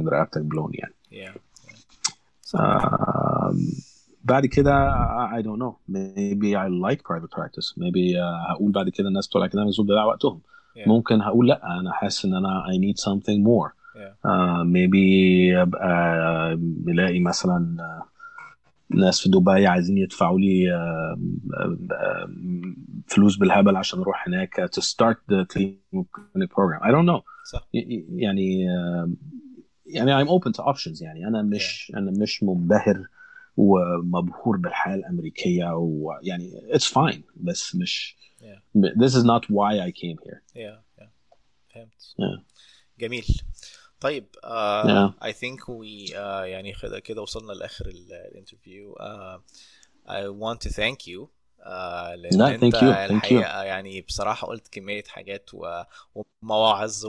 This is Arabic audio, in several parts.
تكون رقبتك بلون يعني. yeah. بعد كده I don't know, maybe I like private practice, maybe هقول بعد كده الناس بتوع الأكاديمية دول بيضيعوا وقتهم. yeah. ممكن هقول لا أنا حاسس إن أنا I need something more. yeah. maybe أبقى بلاقي مثلا ناس في دبي عايزين يدفعوا لي فلوس بالهبل عشان اروح هناك to start the clean clinic program. I don't know. صح. يعني I'm open to options. يعني انا مش منبهر ومبهور بالحياة الأمريكية ويعني it's fine بس مش this is not why I came here. فهمت. yeah. جميل. طيب I think we يعني كده وصلنا لآخر الانترفيو. I want to thank you لأن أنت الحقيقة يعني بصراحة قلت كمية حاجات ومواعظ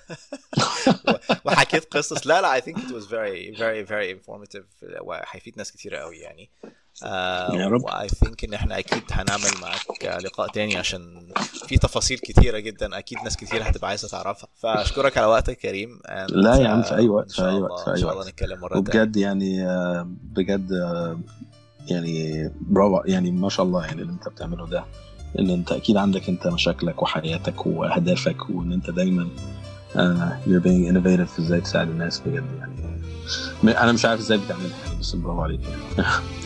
وحكيت قصص. لا I think it was very very very informative وهيفيد ناس كتير قوي يعني. I think إن إحنا أكيد هنعمل معك لقاء تاني عشان في تفاصيل كتيرة جدا أكيد ناس كتير هتبقى عايزة تعرفها. فأشكرك على وقتك كريم. لا يا عم في أي وقت. إن شاء الله نتكلم مرة تانية. وبجد يعني بجد يعني برافو يعني ما شاء الله يعني اللي انت بتعمله ده. ان انت اكيد عندك انت مشاكلك وحياتك واهدافك وان انت دايما you're being innovative في ازاي تساعد الناس بجد يعني. انا مش عارف ازاي بتعملها بس برافو عليك يعني.